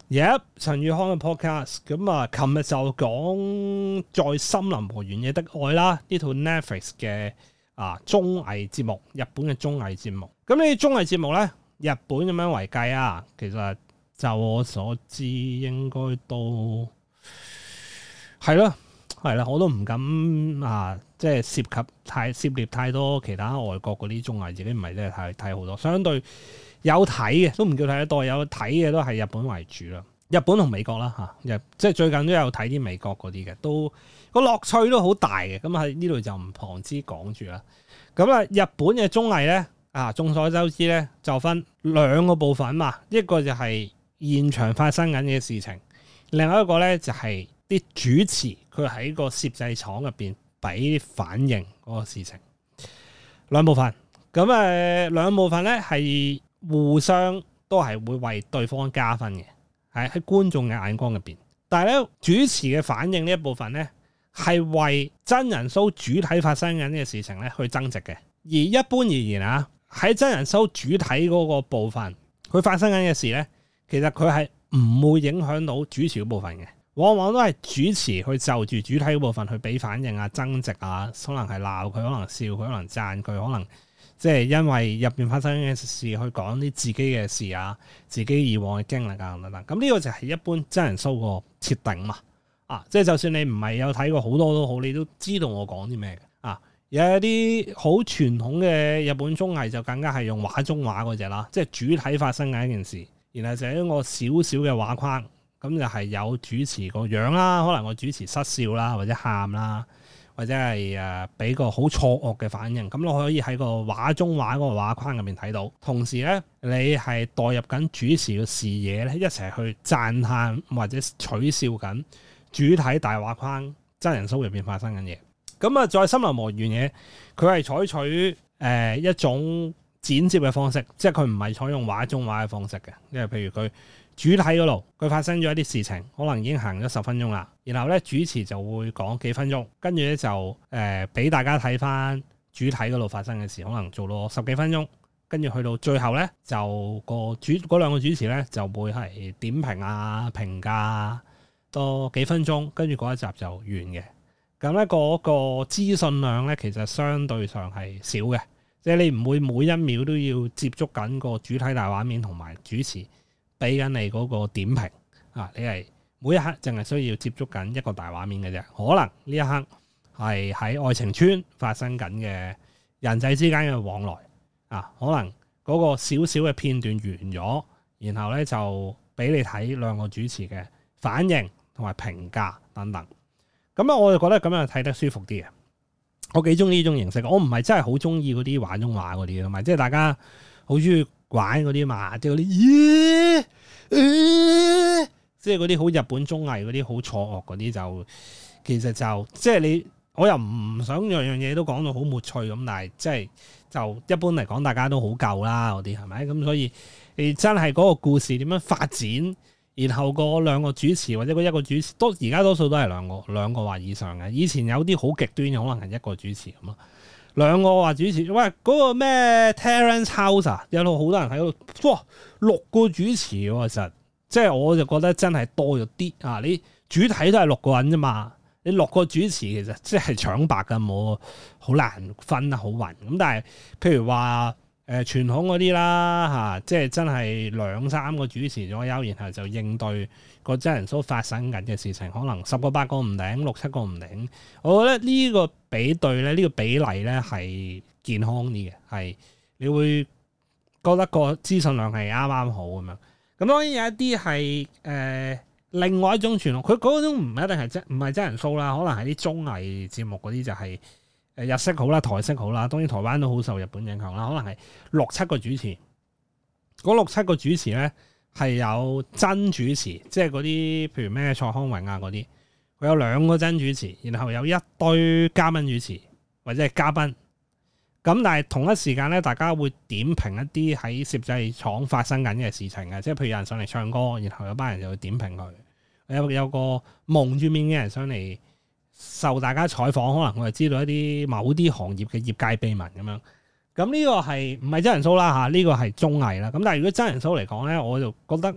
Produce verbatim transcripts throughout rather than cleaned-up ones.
Yep， 陳宇康嘅 podcast 咁啊，琴日就講在森林和原野的愛啦，呢套 Netflix 嘅啊綜藝節目，日本嘅綜藝節目。咁呢啲綜藝節目咧，日本咁樣為計啊，其實就我所知應該都係咯，係啦，我都唔敢啊，即係涉及太涉獵太多其他外國嗰啲綜藝，自己唔係真係太睇好多，相對。有睇嘅都唔叫睇得多，有睇嘅都係日本為主啦。日本同美國啦嚇，即係最近都有睇啲美國嗰啲嘅，都個樂趣都好大嘅。咁喺呢度就唔旁支講住啦。咁啊，日本嘅綜藝咧啊，眾所周知咧就分兩個部分嘛，一個就係現場發生緊嘅事情，另外一個咧就係啲主持佢喺個攝製廠入邊俾反應嗰個事情。兩部分，咁誒兩部分咧係。互相都係會為對方加分嘅，喺喺觀眾嘅眼光入邊。但係咧，主持嘅反應呢一部分咧，係為真人 show 主體發生緊嘅事情咧去增值嘅。而一般而言啊，喺真人 show 主體嗰個部分，佢發生緊嘅事咧，其實佢係唔會影響到主持嗰部分嘅。往往都係主持去就住主體嗰部分去俾反應啊、增值啊，可能係鬧佢，可能笑佢，可能讚佢，可能。即係因為入邊發生嘅事去講啲自己嘅事啊，自己以往嘅經歷啊等等。咁呢個就係一般真人 show 個設定嘛。啊，即係就算你唔係有睇過好多都好，你都知道我講啲咩嘅。啊，有一啲好傳統嘅日本綜藝就更加係用畫中畫嗰隻啦，即係主體發生嘅一件事，然後就係一個小小嘅畫框，咁就係有主持個樣啦，可能個主持失笑啦，或者喊啦。或者係誒俾個好錯愕嘅反應，咁你可以喺個畫中畫嗰個畫框入面睇到。同時咧，你係代入緊主持嘅視野咧，一齊去讚歎或者取笑緊主體大畫框真人 show 入邊發生緊嘢。咁啊，在森林和原野，佢係採取誒、呃、一種剪接嘅方式，即係佢唔係採用畫中畫嘅方式嘅，因為譬如佢。主體嗰度，佢發生咗一啲事情，可能已經行咗十分鐘啦。然後咧，主持就會講幾分鐘，跟住咧就誒俾、呃、大家睇翻主體嗰度發生嘅事，可能做到十幾分鐘。跟住去到最後咧，就個主嗰兩個主持咧就會係點評啊、評價多幾分鐘，跟住嗰一集就完嘅。咁咧嗰個資訊量咧，其實相對上係少嘅，即係你唔會每一秒都要接觸緊個主體大畫面同埋主持。俾緊你嗰個點評啊！你係每一刻淨係需要接觸緊一個大畫面嘅啫。可能呢一刻係喺愛情村發生緊嘅人際之間嘅往來啊，可能嗰個少少嘅片段完咗，然後咧就俾你睇兩個主持嘅反應同埋評價等等。咁啊，我就覺得咁樣睇得舒服啲嘅。我幾中意呢種形式。我唔係真係好中意嗰啲畫中畫嗰啲，同埋即係大家好中意。玩嗰啲嘛，即係嗰啲，咦、欸，即係嗰啲好日本綜藝嗰啲好錯愕嗰啲就，其實就即係你，我又唔想樣樣嘢都講到好沒趣咁，但係即係就一般嚟講，大家都好夠啦嗰啲係咪？咁所以你真係嗰個故事點樣發展，然後嗰兩個主持或者嗰一個主持，都而家多數都係兩個兩個或以上嘅。以前有啲好極端嘅，可能係一個主持咁咯。兩個話主持，喂嗰、那個咩 Terrace House 啊，有到好多人喺度，哇六個主持喎，實即係我就覺得真係多咗啲啊！你主體都係六個人啫嘛，你六個主持其實即係搶白㗎，冇好難分得好勻。咁但係譬如話誒、呃、傳統嗰啲啦嚇，即係真係兩三個主持左右，然後就應對個真人 show 發生緊嘅事情，可能十個八個唔頂，六七個唔頂。我覺得呢個比對咧，呢、呢個比例咧係健康啲嘅，係你會覺得個資訊量係啱啱好咁樣。咁當然有一啲係誒另外一種傳統，佢嗰種唔一定係真唔係真人 show 啦，可能係啲綜藝節目嗰啲就係誒日式好啦、台式好啦。當然台灣都好受日本影響啦，可能係六七個主持，嗰六七個主持咧。係有真主持，即係嗰啲譬如咩蔡康永啊嗰啲，佢有兩個真主持，然後有一堆嘉賓主持或者係嘉賓。咁但係同一時間咧，大家會點評一啲喺攝製廠發生緊嘅事情嘅，即係譬如有人上嚟唱歌，然後有班人就會點評佢。有有個蒙住面嘅人上嚟受大家採訪，可能我係知道一啲某啲行業嘅業界秘聞咁樣。咁呢個係唔係真人 show 啦嚇？呢個係綜藝啦。咁但係如果真人 show 嚟講咧，我就覺得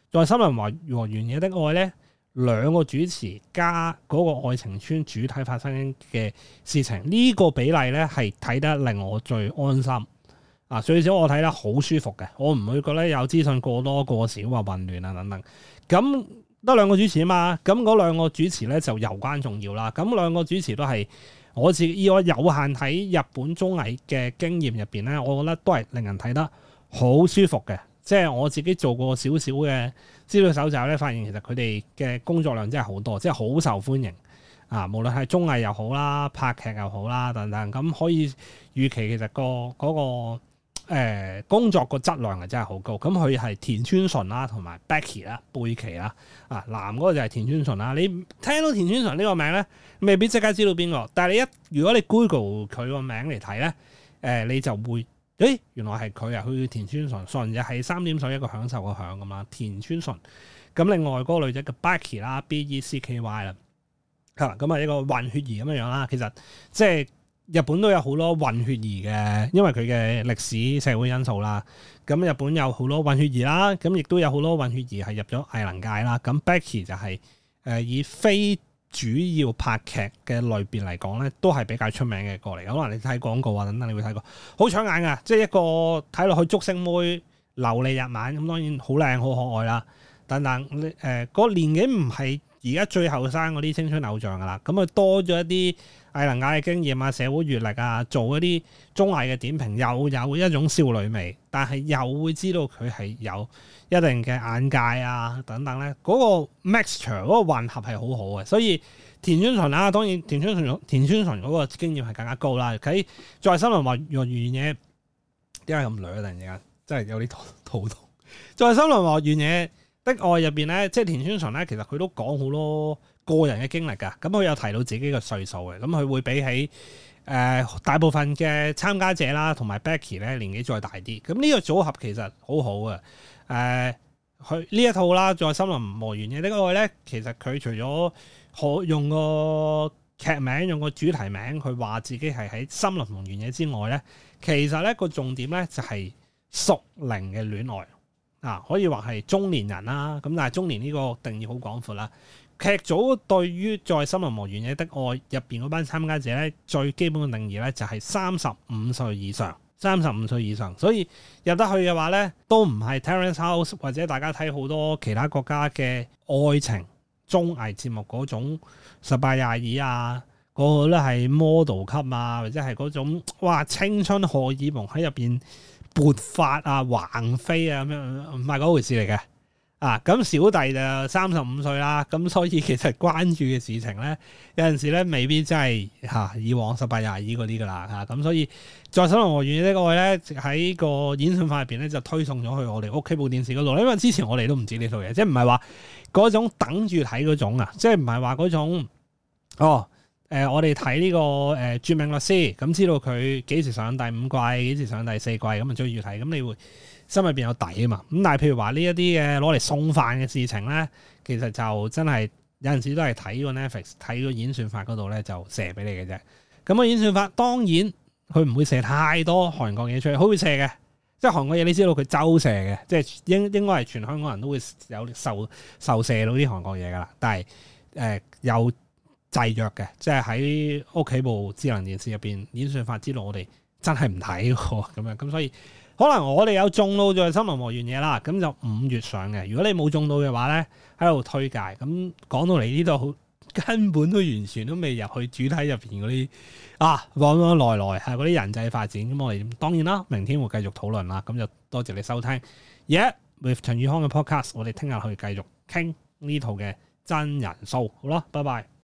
在森林和原野的愛咧，兩個主持加嗰個愛情村主體發生嘅事情，呢、這個比例咧係睇得令我最安心啊！最少我睇得好舒服嘅，我唔會覺得有資訊過多過少或混亂啊等等。咁得兩個主持啊嘛，咁嗰兩個主持咧就攸關重要啦。咁兩個主持都係我自己以我有限睇日本綜藝嘅經驗入邊咧，我覺得都係令人睇得好舒服嘅。即係我自己做過少少嘅資料搜集咧，發現其實佢哋嘅工作量真係好多，即係好受歡迎啊！無論係綜藝又好啦，拍劇又好啦等等，咁可以預期其實個嗰個、呃、工作個質量係真係好高。咁佢係田村淳啦，同埋 Becky 啦、貝奇啦啊，男嗰個就係田村淳啦。你聽到田村淳呢個名咧，未必即刻知道邊個，但係你一如果你 Google 佢個名嚟睇咧，誒、呃、你就會。誒，原來係佢啊！佢叫田村淳，淳就係三點水一個享受個享咁啦。田村淳，咁另外嗰個女仔叫 Becky 啦 ，B E C K Y 啦，係咁啊一個混血兒咁樣樣啦。其實即係日本都有好多混血兒嘅，因為佢嘅歷史社會因素啦。咁日本有好多混血兒啦，咁亦都有好多混血兒係入咗藝能界啦。咁 Becky 就係、是、誒、呃、以非主要拍劇嘅類別嚟講咧，都係比較出名嘅過嚟。可能你睇廣告啊等等，你會睇過好搶眼噶，即係一個睇落去竹升妹流利日文，咁當然好靚好可愛啦。等等，誒、呃、嗰、那個年紀唔係而家最後生嗰啲青春偶像噶啦，咁啊多咗一啲藝能界嘅經驗啊、社會閲歷啊，做一啲綜藝嘅點評，又有一種少女味，但係又會知道佢係有一定嘅眼界啊等等咧，嗰、那個 mixture 嗰個混合係好好嘅，所以田村淳啦，當然田村淳田村淳嗰個經驗係更加高啦。喺在森林和原野，點解咁累啊？突然之間真係有啲肚痛。在森林和原野的愛入邊咧，即係田村淳咧，其實佢都講好多個人嘅經歷㗎。咁佢有提到自己嘅歲數嘅，咁佢會比起誒、呃、大部分嘅參加者啦，同埋 Becky 咧年紀再大啲。咁呢個組合其實好好嘅。誒、呃，佢呢一套啦，在森林和原野的愛咧，其實佢除咗可用個劇名，用個主題名，佢話自己係喺森林同原野之外咧，其實咧個重點咧就係屬靈嘅戀愛。啊，可以話係中年人啦，咁但係中年呢個定義好廣闊啦。劇組對於在森林和原野的愛入邊嗰班參加者咧，最基本嘅定義咧就係三十五歲以上，三十五歲以上，所以入得去嘅話咧，都唔係 Terrace House 或者大家睇好多其他國家嘅愛情綜藝節目嗰種十八廿二啊，個個都係 model 級啊，或者係嗰種哇青春荷爾蒙喺入邊勃發啊、橫飛啊咁樣，唔係嗰回事嚟嘅啊！咁小弟就三十五歲啦，咁所以其實關注嘅事情咧，有陣時咧未必真係嚇、啊、以往十八廿二嗰啲噶啦嚇，咁、啊、所以在森林和原野的愛咧喺個演算法入邊咧就推送咗去我哋屋企部電視嗰度，因為之前我哋都唔知呢套嘢，即係唔係話嗰種等住睇嗰種啊，即係唔係話嗰種哦。誒、呃，我哋睇呢個誒《絕命律師》，咁知道佢幾時上第五季，幾時上第四季，咁啊追住睇，咁你會心入邊有底啊嘛。咁但係譬如話呢一啲嘅攞嚟送飯嘅事情咧，其實就真係有陣時都係睇個 Netflix 睇個演算法嗰度咧就射俾你嘅啫。咁個演算法當然佢唔會射太多韓國嘢出去，佢會射嘅，即係韓國嘢你知道佢周射嘅，即係應應該係全香港人都會有受受射到啲韓國嘢噶啦。但係誒、呃、有制約嘅，即係喺屋企部智能電視入邊演算法知道我哋真係唔睇喎，咁樣咁所以可能我哋有中到在森林和原野啦，咁就五月上嘅。如果你冇中到嘅話咧，喺度推介。咁講到嚟呢度，根本都完全都未入去主題入邊嗰啲啊，往往來來係嗰啲人際發展。咁我哋當然啦，明天會繼續討論啦。咁就多謝你收聽。Yeah with 陳宇康嘅 podcast，我哋聽日去繼續傾呢套嘅真人 show。好啦，拜拜。